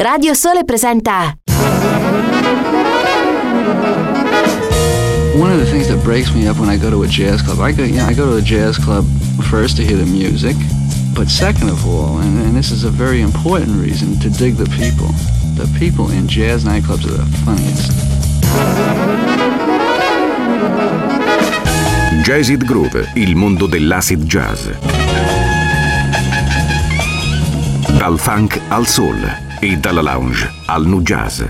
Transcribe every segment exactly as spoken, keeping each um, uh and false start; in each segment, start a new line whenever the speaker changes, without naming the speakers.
Radio Sole presenta.
One of the things that breaks me up when I go to a jazz club, I go, you know, I go to a jazz club first to hear the music, but second of all, and, and this is a very important reason, to dig the people. The people in jazz nightclubs are the funniest.
Jazzid Groove, il mondo dell'acid jazz. Dal funk al soul e dalla lounge al nu jazz.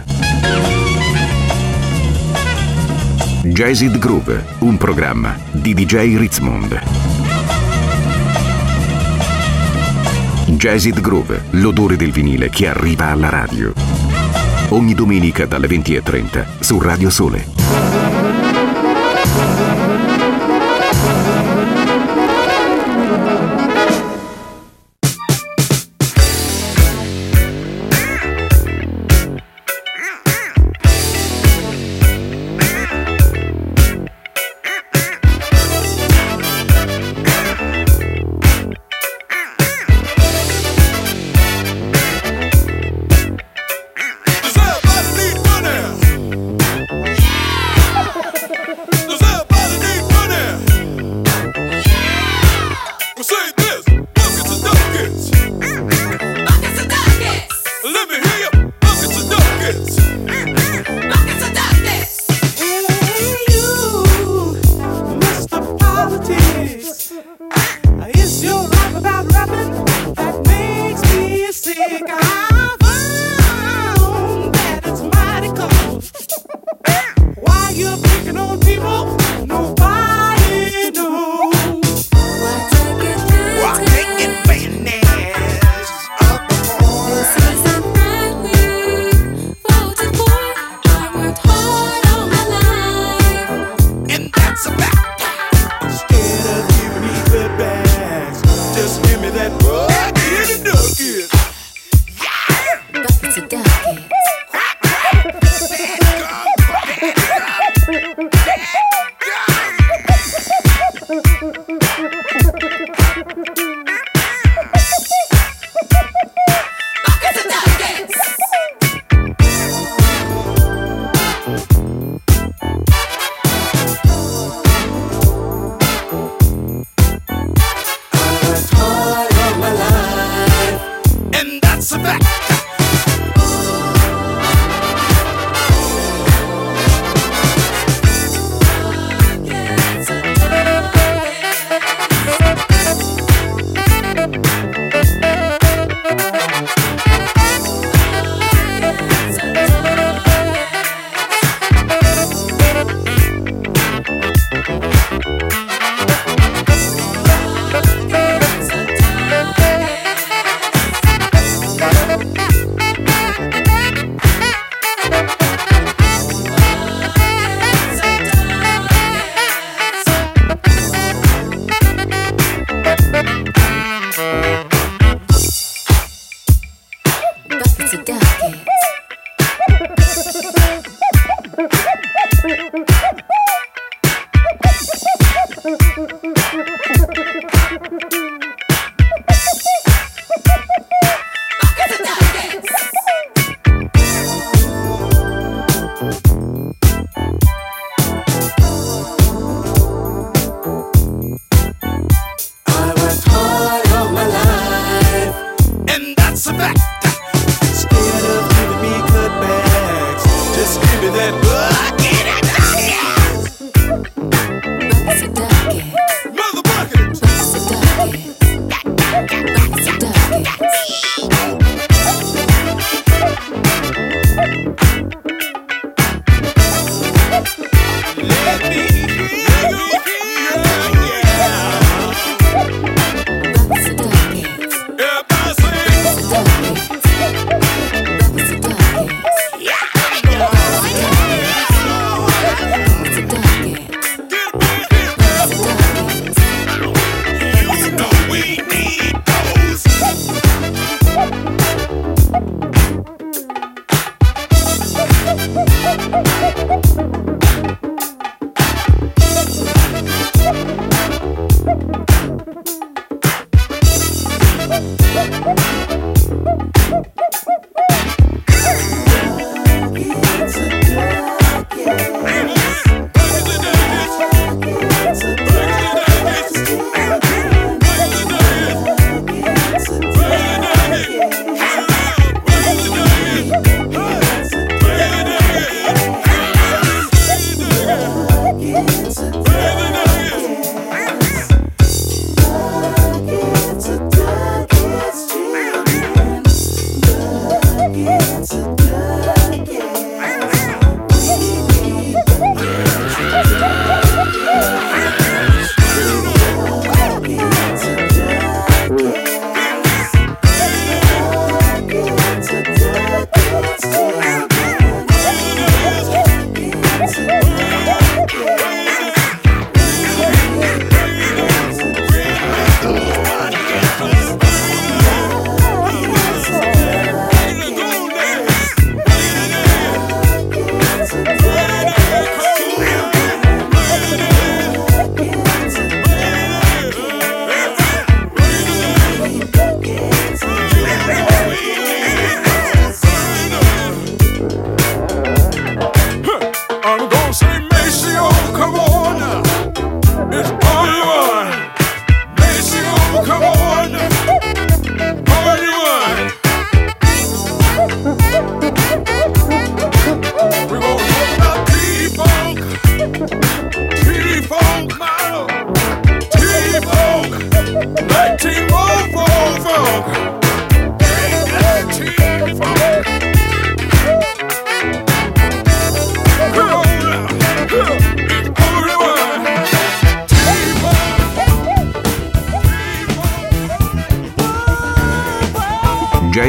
Jazzid Groove, un programma di D J Ritzmond. Jazzid Groove, l'odore del vinile che arriva alla radio. Ogni domenica dalle venti e trenta su Radio Sole.
Scared of giving me cutbacks. Just give me that. Uh, get it, uh, yeah.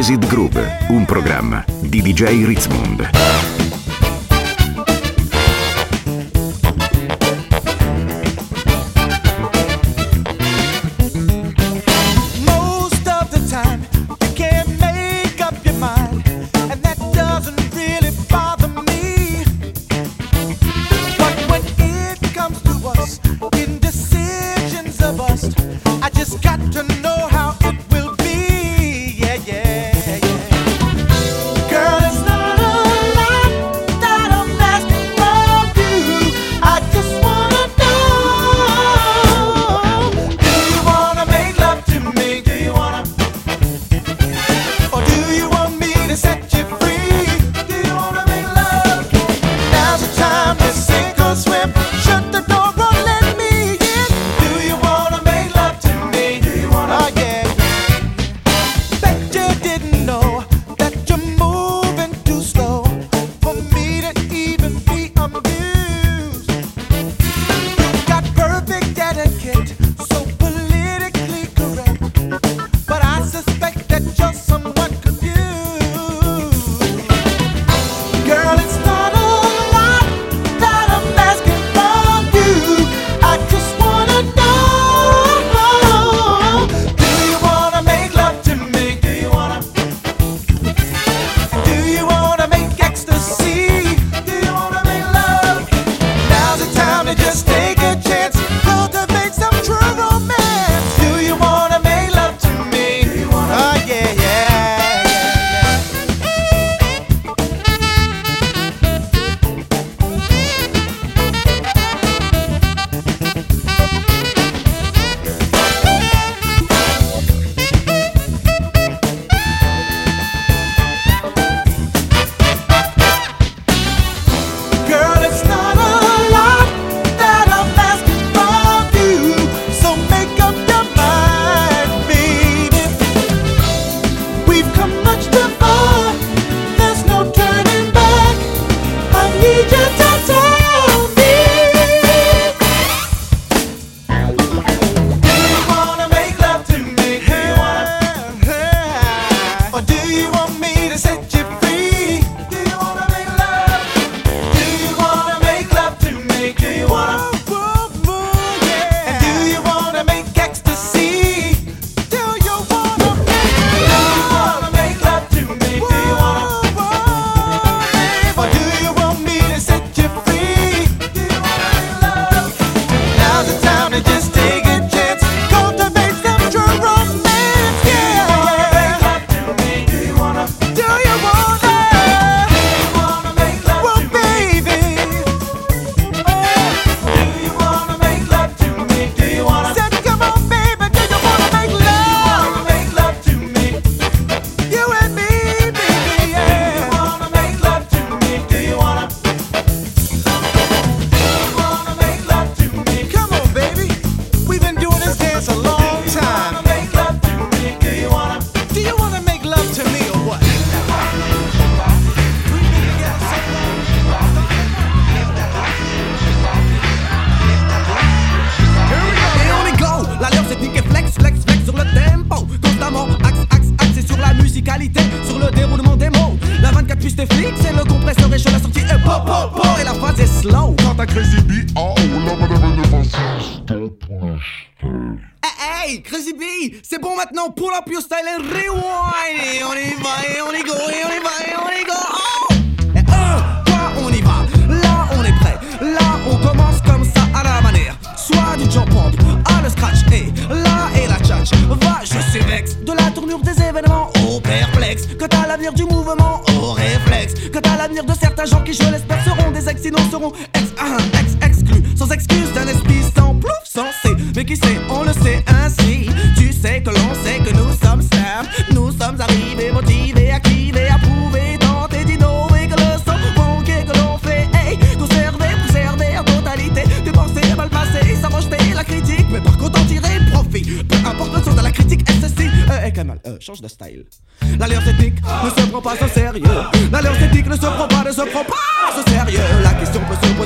Acid Groove, un programma di D J Ritzmond.
Pull up your style and rewind. Et on y va, et on y go, et on y va, et on y go. Oh! Et un, quoi, on y va. Là, on est prêt. Là, on commence comme ça à la manière. Soit du jump pump, à le scratch. Et là, et la tchatch. Va, je suis vex. De la tournure des événements au perplexe. Que t'as l'avenir du mouvement au réflexe. Que t'as l'avenir de certains gens qui, je l'espère, seront des ex, sinon seront ex, uh, ex, exclus. Sans excuse d'un esprit sans plouf, censé. Mais qui sait, on le sait ainsi. Tu sais que l'on sait que nous sommes stars. Nous sommes arrivés, motivés, activés, approuvés, tentés d'innover, que le son manqué que l'on fait. Hey, conserver, préserver en totalité. De penser mal passer, sans rejeter la critique. Mais par contre en tirer profit. Peu importe le son de la critique, S S I. Euh, hey, Kamal, euh, change de style. L'alliance ethnique ne se prend pas au sérieux. L'alliance ethnique ne se prend pas, ne se prend pas au sérieux. La question peut se poser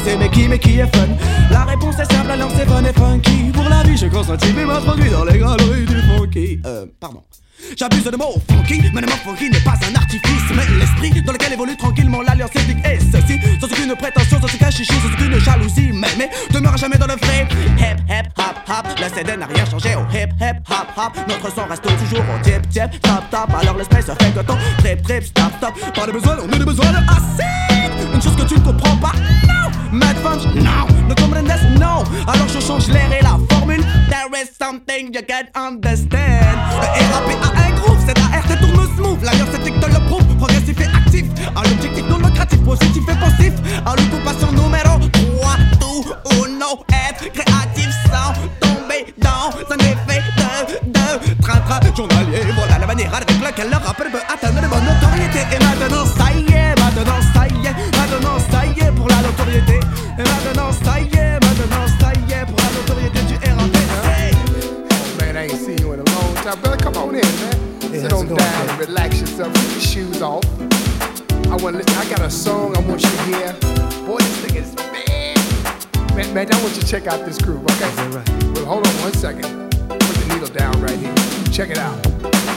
c'est mais qui, mais qui est fun? La réponse est simple, alors c'est fun et funky. Pour la vie, j'ai consenti, mais m'introduit dans les galeries du funky. Euh, pardon. J'abuse de mots funky, mais le mot funky n'est pas un artifice, mais l'esprit dans lequel évolue tranquillement l'alliance ethnique. Et ceci, sans aucune prétention, sans aucun chichi, sans aucune jalousie, mais, mais demeure jamais dans le fait. Hip, hip, hop, hop, le C D n'a rien changé au hip, hip, hop, hop. Notre son reste toujours au tip, tip, top, top. Alors l'esprit se fait que ton trip, trip, stop, stop. Pas de besoin, on a de besoin de acide. Une chose que tu ne comprends pas, non. Mad Funk, non. Ne comprenez non. Alors je change l'air et la formule. There is something you can understand. Et rapper à un groupe, c'est A R T tourne smooth. L'alliance éthique te le prouve, progressif et actif. À l'objectif non lucratif, positif et pensif. À l'occupation numéro trois, tout ou non. Être créatif sans tomber dans un effet de, de train-train journalier. Voilà la manière avec laquelle le rappeur peut atteindre de bonne notoriété. Et maintenant ça y est, maintenant ça y est, maintenant ça y est pour la notoriété. Et maintenant ça y est, maintenant ça y est pour la notoriété du R A P.
Man, I ain't seen you in a long time. Brother, come on in, man.
Yeah,
sit on down and relax yourself. Take your shoes off. I want to listen. I got a song I want you to hear. Boy, this thing is man. Man, man, I want you to check out this groove, okay?
Yeah, right.
Well, hold on one second. Put the needle down right here. Check it out.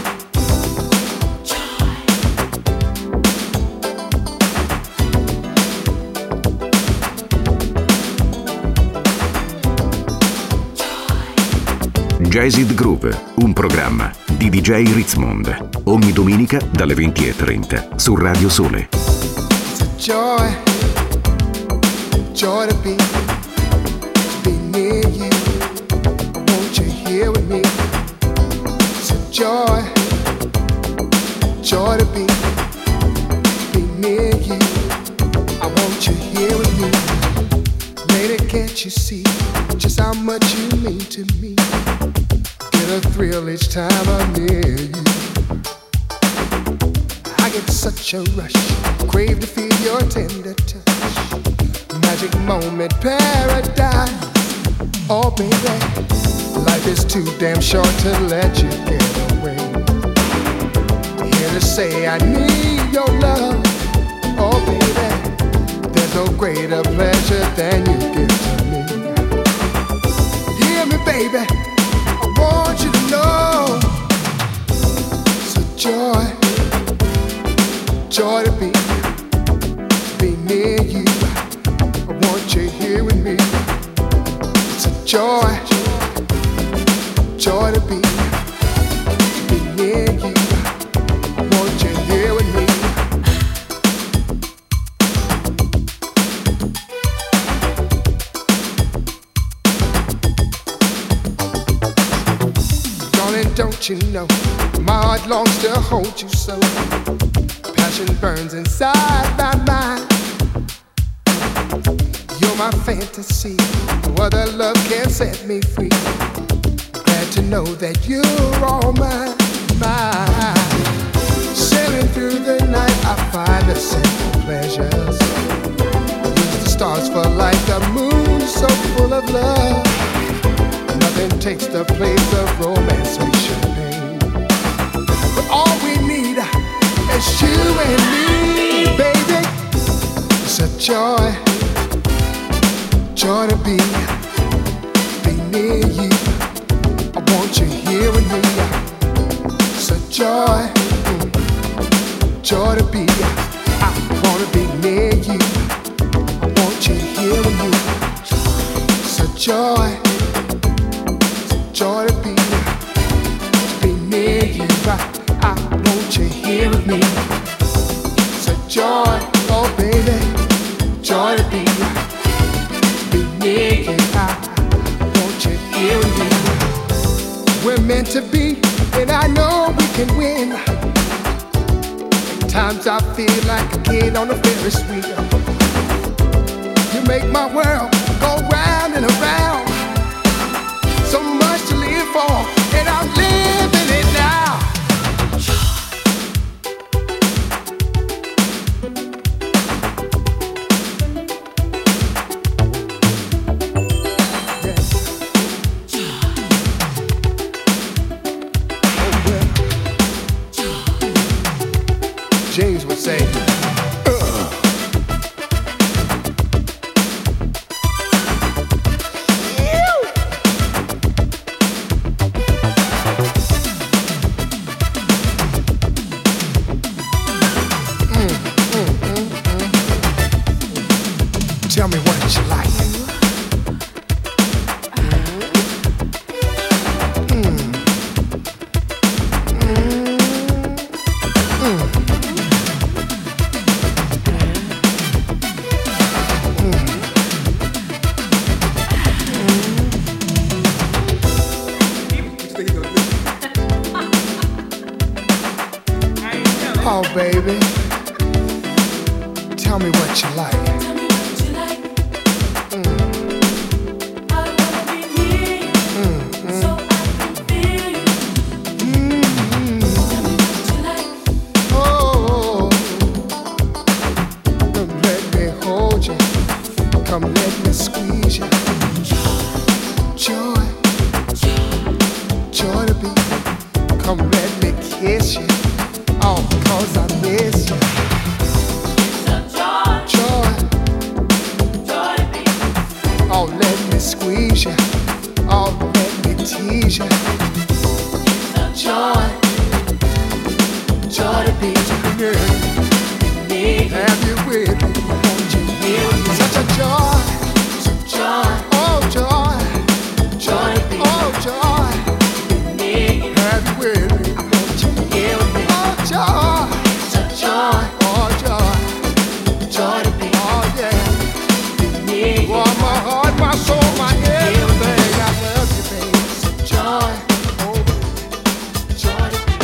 Jazzed Groove, un programma di D J Ritzmond, ogni domenica dalle venti e trenta su Radio Sole.
It's a joy, joy to be, to be near you. Won't you here with me? It's a joy, joy to be, to be near you. I want you here with me. Lady, can't you see just how much you mean to me? Get a thrill each time I'm near you. I get such a rush, crave to feel your tender touch. Magic moment, paradise. Oh baby, life is too damn short to let you get away. Here to say I need your love. Oh baby, there's no greater pleasure than you give to me. Hear me baby, I want you to know it's a joy, joy to be, to be near you. I want you here with me. It's a joy, joy to be, to be near you. I want you here with me. Don't you know, my heart longs to hold you so. Passion burns inside my mind. You're my fantasy, no other love can set me free. Glad to know that you're all mine, mine. Sailing through the night, I find the simple pleasures. Use the stars for light, the moon so full of love. Nothing takes the place of romance or champagne. But all we need is you and me, baby. It's a joy, joy to be, be near you. I want you here with me. It's a joy, joy to be. I want to be near you. I want you here with me. It's a joy, joy to be, to be near you. I, I want you here with me. It's a joy, oh baby, joy to be, to be near you. I want you here with me. We're meant to be, and I know we can win. At times I feel like a kid on a Ferris wheel. You make my world go round and around. So much to live for, and I'm living it now. Yeah. Oh, well. James would say, uh. Tell me what you like. Oh, baby, tell me what you like.
Tell me what you like. Mm. I wanna be near you, mm-hmm. so I can feel you. Mm-hmm. Tell me what you like.
Oh, come let me hold you. Come let me squeeze you. Joy, joy, joy to be. Come let me kiss you. Oh, cause I miss you.
Joy,
Joy,
joy to be.
oh, let me squeeze you. Oh, let me tease you. Joy, joy to be. Yeah. Have you with me? Won't you hear me? Such a joy,
Joy,
oh joy,
joy to be.
oh joy. Have you with me?
Won't you hear me?
Oh joy,
Joy,
oh joy,
joy to be.
oh yeah.
Near you.
Oh, my heart, my soul, my everything. I love you, baby.
Joy,
Oh,
joy to be.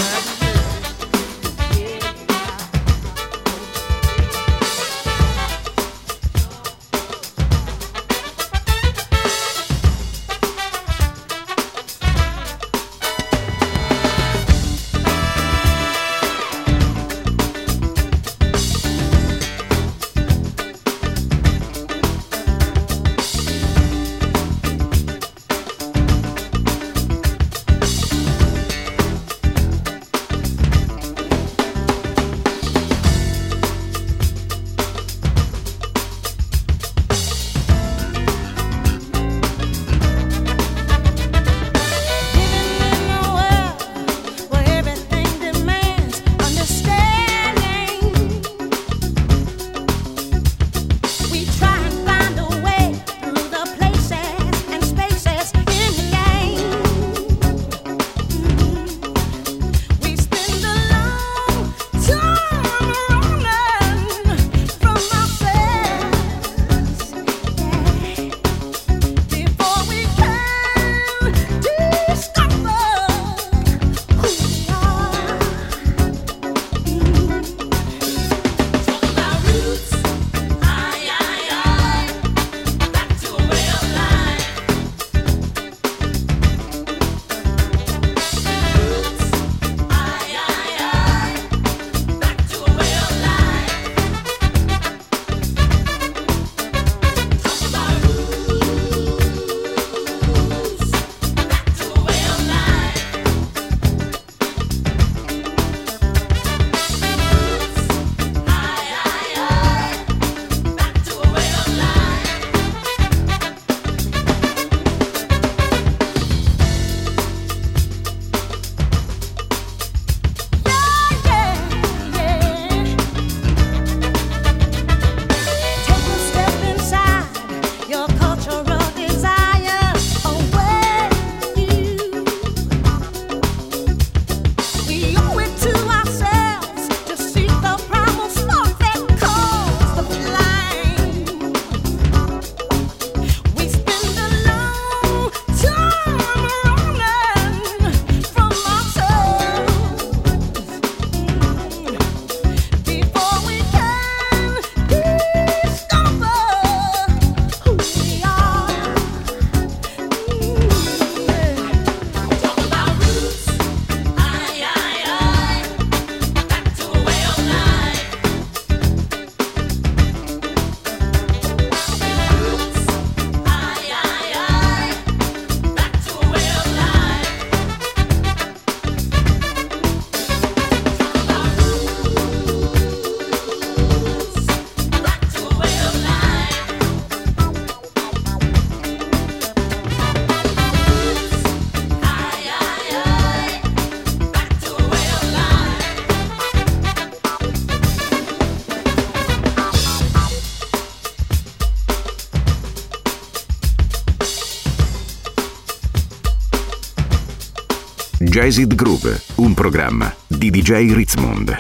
Jazzed Groove, un programma di D J Ritzmond.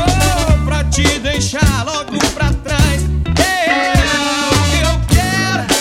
Deixar logo pra trás. Ei, o que eu quero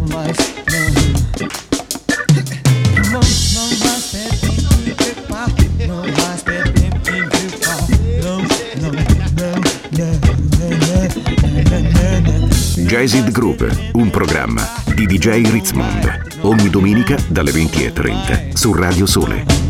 Jazzed Groove, un programma di D J Ritzmond, ogni domenica dalle venti e trenta su Radio Sole.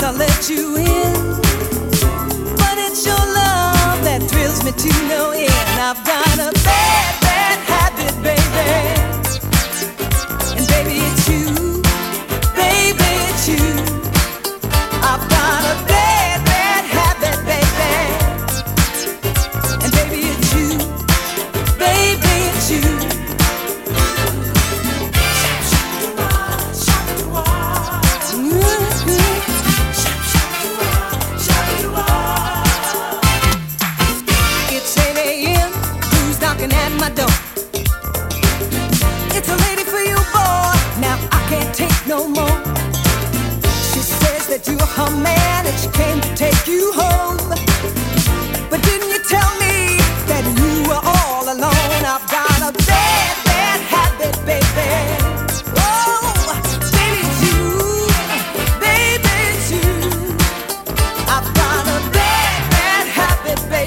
I let you in. But it's your love that thrills me to no end. I've got a bad, bad habit, baby. And baby, it's you. Baby, it's you. I've got a bad, bad habit, baby. And baby, it's you. Baby, it's you. At my door, it's a lady for you, boy. Now I can't take no more. She says that you're her man and she came to take you home. But didn't you tell me that you were all alone? I've got a bad, bad habit, baby. Oh, baby, it's you. Baby, it's you. I've got a bad, bad habit, baby.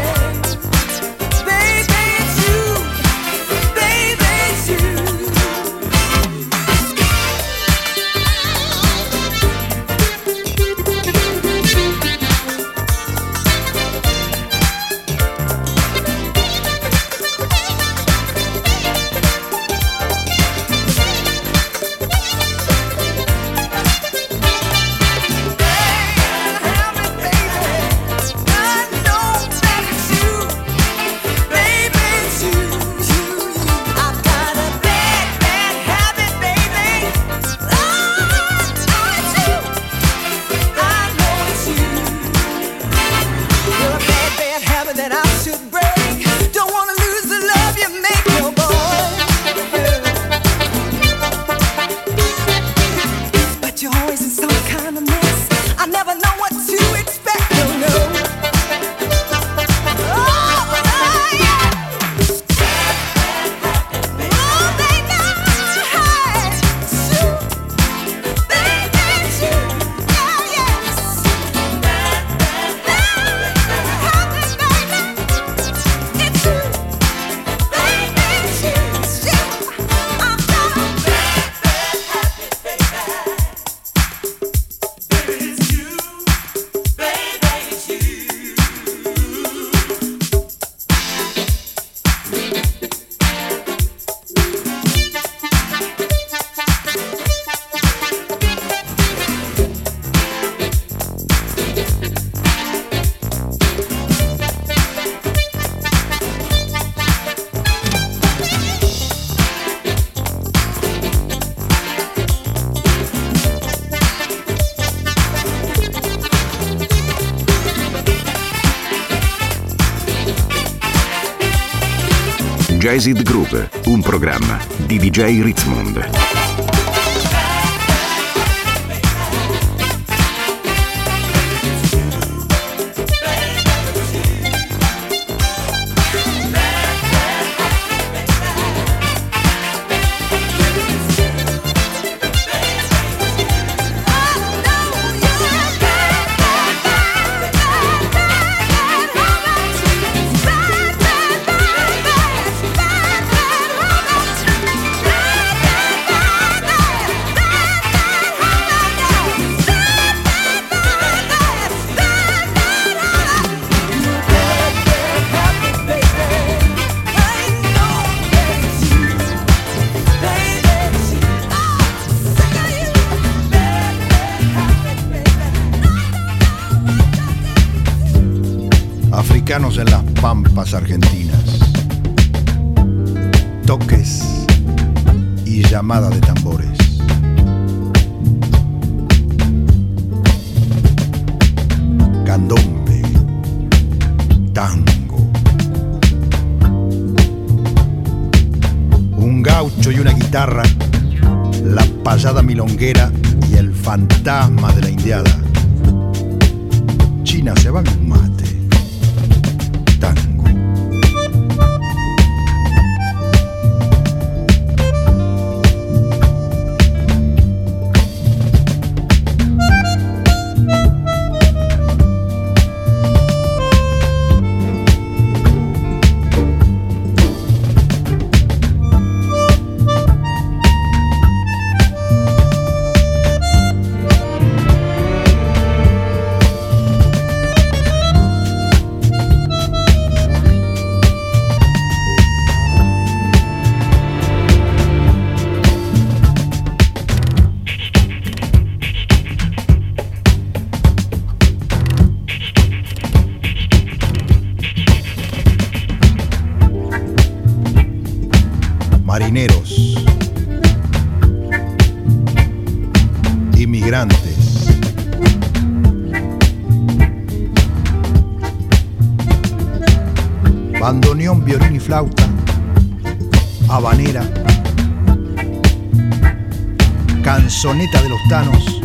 Jazzed Groove, un programma di D J Ritzmond.
Africanos en las pampas argentinas, toques y llamada de tambores. Candombe, tango, un gaucho y una guitarra, la payada milonguera y el fantasma de la indiada. China se va un mate. Tango. marineros, inmigrantes, bandoneón, violín y flauta, habanera, canzoneta de los tanos,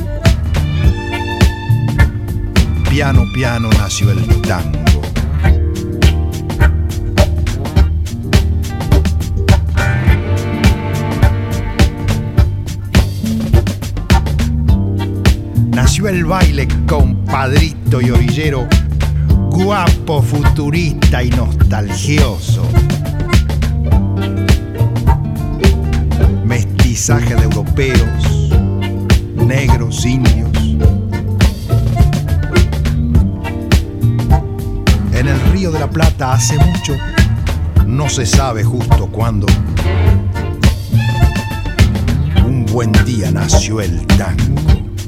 piano, piano nació el tango. Nació el baile, compadrito y orillero, guapo, futurista y nostalgioso. Mestizaje de europeos, negros, indios. En el Río de la Plata hace mucho, no se sabe justo cuándo, un buen día nació el tango.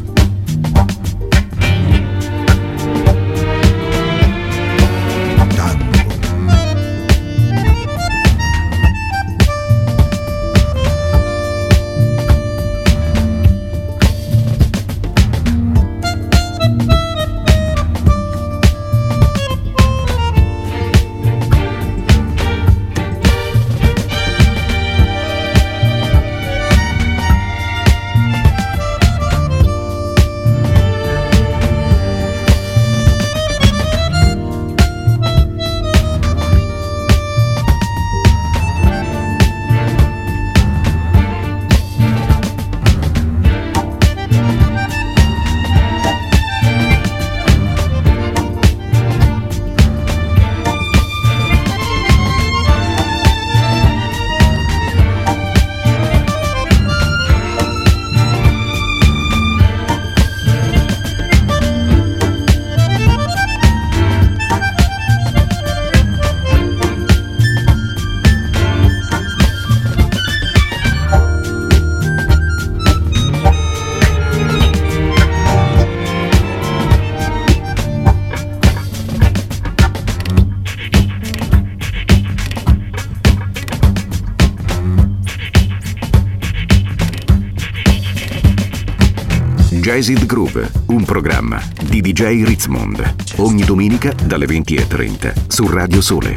Jazz It Groove, un programma di D J Ritzmond, ogni domenica dalle venti e trenta su Radio Sole.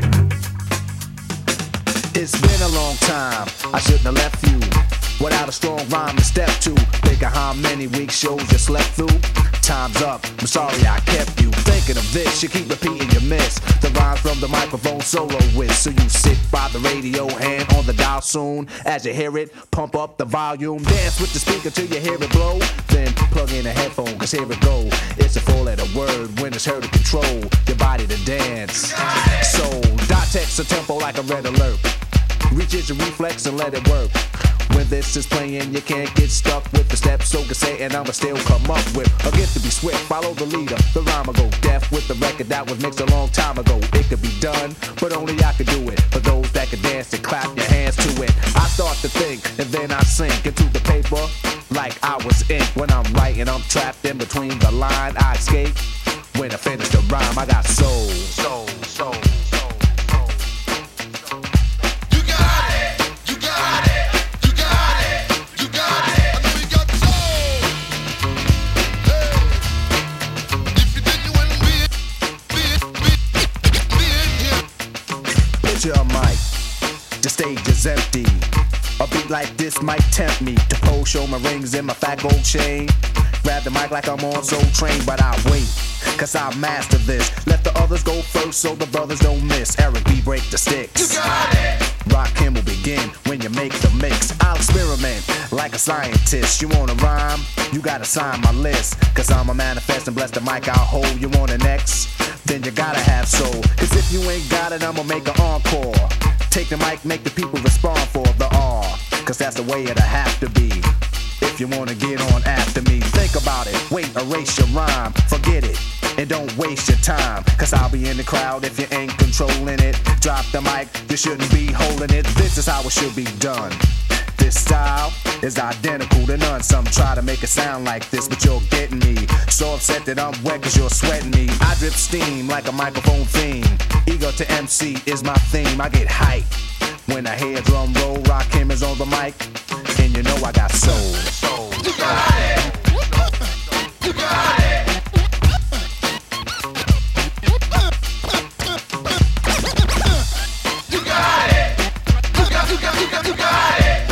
It's been a long time, I shouldn't have left you without a strong rhyme to step to. Think of how many week shows you slept through. Time's up, I'm sorry I kept you thinking of this. You keep repeating your miss the rhymes from the microphone solo with. So you sit by the radio, hand on the dial soon. As you hear it, pump up the volume. Dance with the speaker till you hear it blow. Then plug in a headphone, cause here it go. It's a four letter word when it's heard to control your body to dance. So dot text a tempo like a red alert. Reach your reflex and let it work. When this is playing, you can't get stuck with the steps. So can say, and I'ma still come up with a gift to be swift. Follow the leader, the rhyme will go deaf with the record that was mixed a long time ago. It could be done, but only I could do it. For those that can dance and clap your hands to it. I start to think, and then I sink into the paper like I was ink. When I'm writing, I'm trapped in between the line. I escape when I finish the rhyme. I got soul, soul, soul. A mic, the stage is empty. A beat like this might tempt me to pose, show my rings and my fat gold chain. Grab the mic like I'm on Soul Train, but I wait, cause I master this. Let the others go first so the brothers don't miss. Eric B, break the sticks. You got it! Rock him will begin when you make the mix. I'll experiment like a scientist. You wanna rhyme? You gotta sign my list. Cause I'm a manifest and bless the mic I'll hold. You want an X? Then you gotta have soul. Cause if you ain't got it, I'ma make an encore. Take the mic, make the people respond for the R. Cause that's the way it'll have to be. If you wanna get on after me, think about it. Wait, erase your rhyme, forget it. And don't waste your time, cause I'll be in the crowd if you ain't controlling it. Drop the mic, you shouldn't be holding it. This is how it should be done. This style is identical to none. Some try to make it sound like this, but you're getting me so upset that I'm wet cause you're sweating me. I drip steam like a microphone theme. Ego to M C is my theme. I get hype When I hear drum roll, Rakim is on the mic, and you know I got soul. Soul. You got it. You got it. You got it. You got, you got, you got, you got it.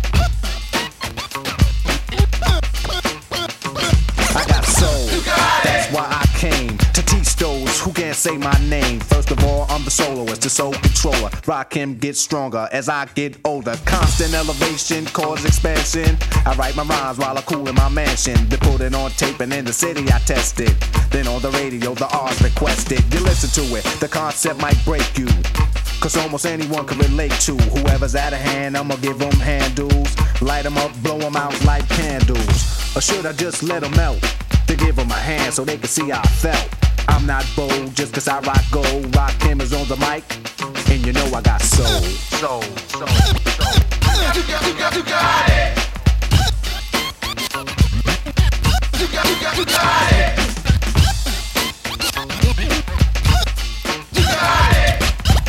I got soul. You got it. That's why I came to teach those who can't say my name. First of all, I'm the soloist, the soul controller. Rakim gets stronger as I get older. Constant elevation, cause expansion. I write my rhymes while I cool in my mansion. They put it on tape and in the city I test it. Then on the radio, the R's requested. You listen to it, the concept might break you. Cause almost anyone can relate to whoever's out of hand, I'ma give them handles. Light them up, blow them out like candles. Or should I just let them melt? To give them a hand so they can see how I felt. I'm not bold just cause I rock gold. Rakim is on the mic, and you know I got soul. Soul, soul, soul. You got, you got, you got it. You got, you got, you got it. You got it.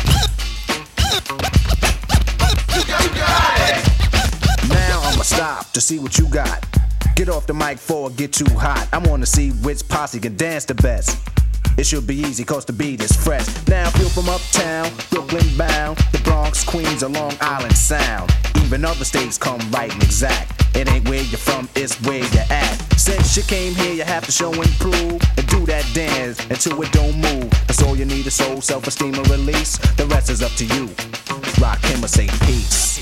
You got, you got it. Now I'ma stop to see what you got. Get off the mic before it get too hot. I wanna see which posse can dance the best. It should be easy cause the beat is fresh. Now feel from uptown, Brooklyn bound, the Bronx, Queens, or Long Island Sound. Even other states come right and exact. It ain't where you're from, it's where you're at. Since you came here, you have to show and prove and do that dance until it don't move. That's all you need is soul, self-esteem, and release. The rest is up to you. Rakim or say peace.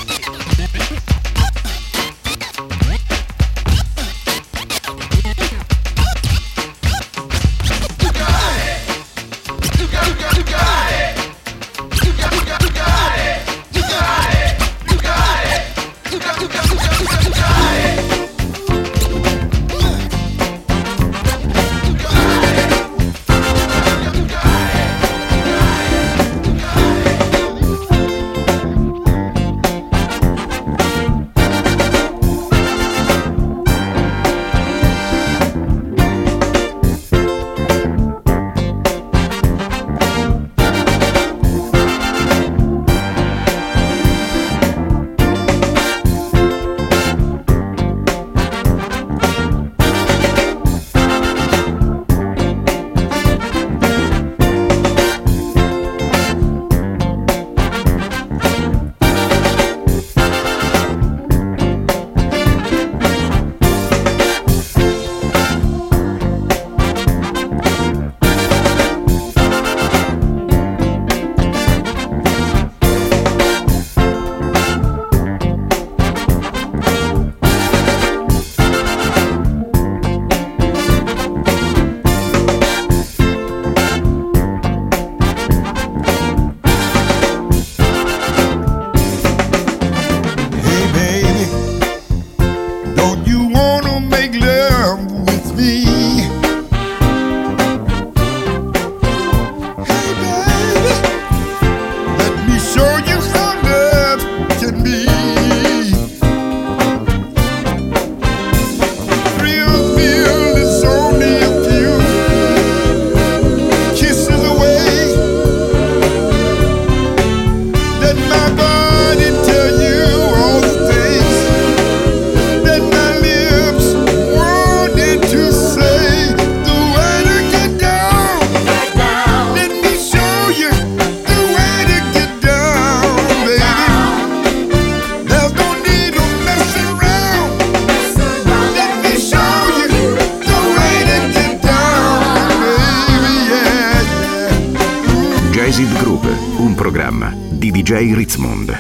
Jazzed Groove, un programma di D J Ritzmond.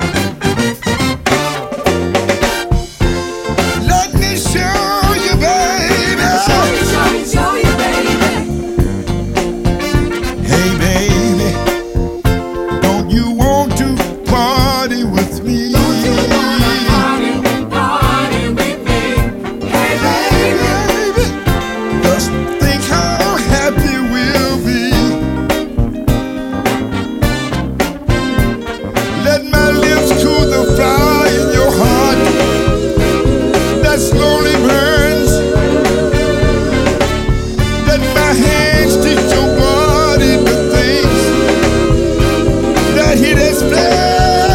Let me show you, baby. Show you, show you, show you, baby. Hey, baby, don't you want to party with me? Don't you want to party, party with me? Hey, baby, baby, just think how happy we'll be. Let my lips cool the fire in your heart that slowly burns. Let my hands teach your body the things that He displays.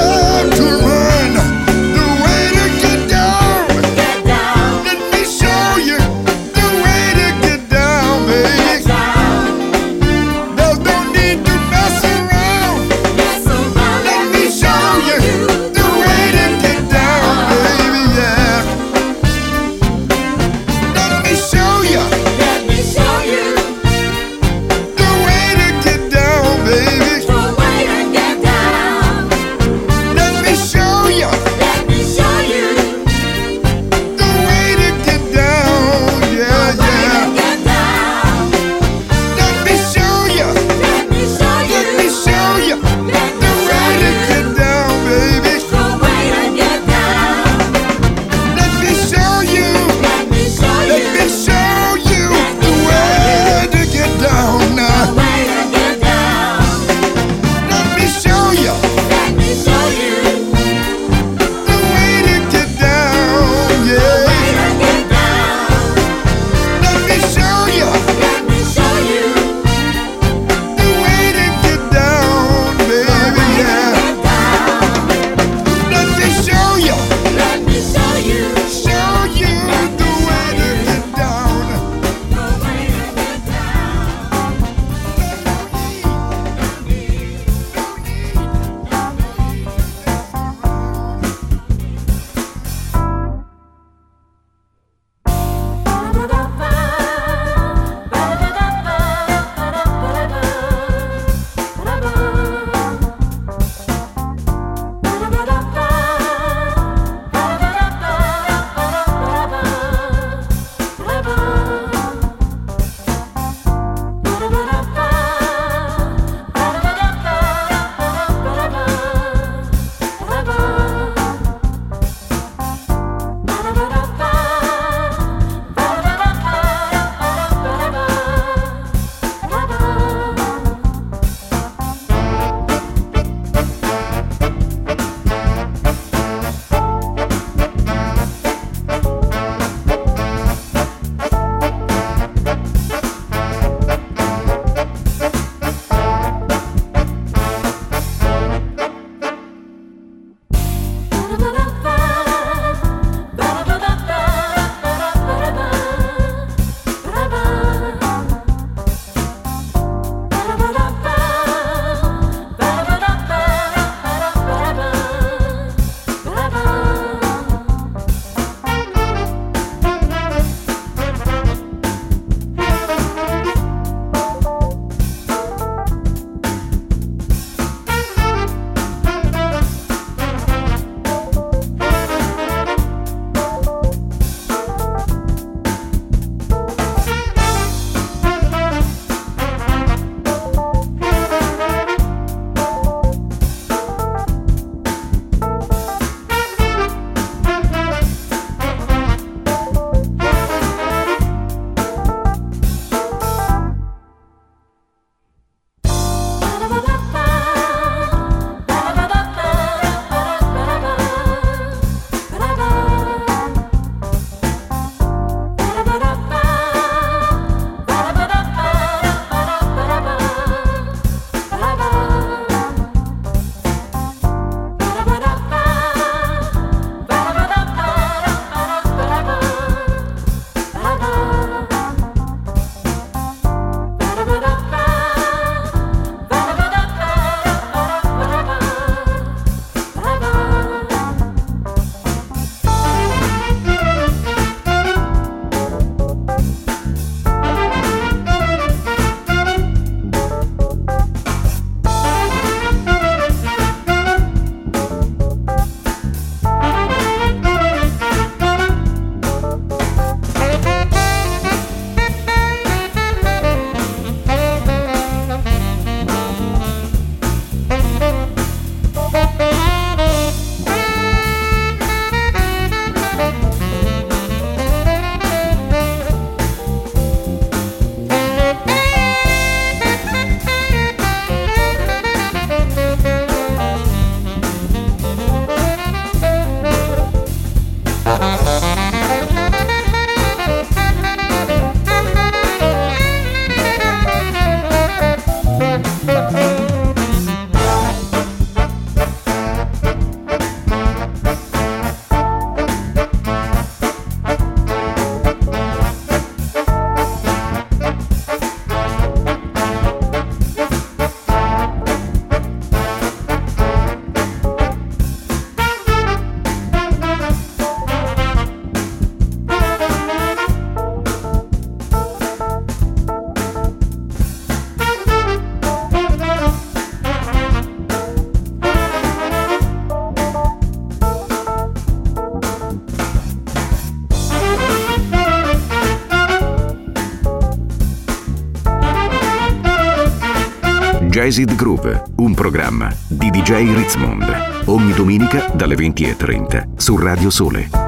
Jazzed Groove, un programma di D J Ritzmond. Ogni domenica dalle venti e trenta su Radio Sole.